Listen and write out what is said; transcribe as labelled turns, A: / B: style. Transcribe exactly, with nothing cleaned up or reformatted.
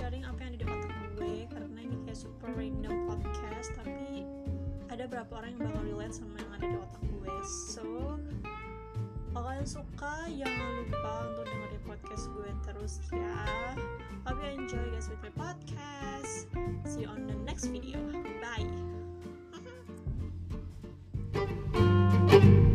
A: sharing apa yang ada di otak gue, karena ini kayak super random podcast, tapi ada beberapa orang yang bakal relate sama yang ada di otak gue. So kalau kalian suka, jangan lupa untuk dengerin podcast gue terus ya. Hope you enjoy guys with my podcast. See you on the next video. Bye.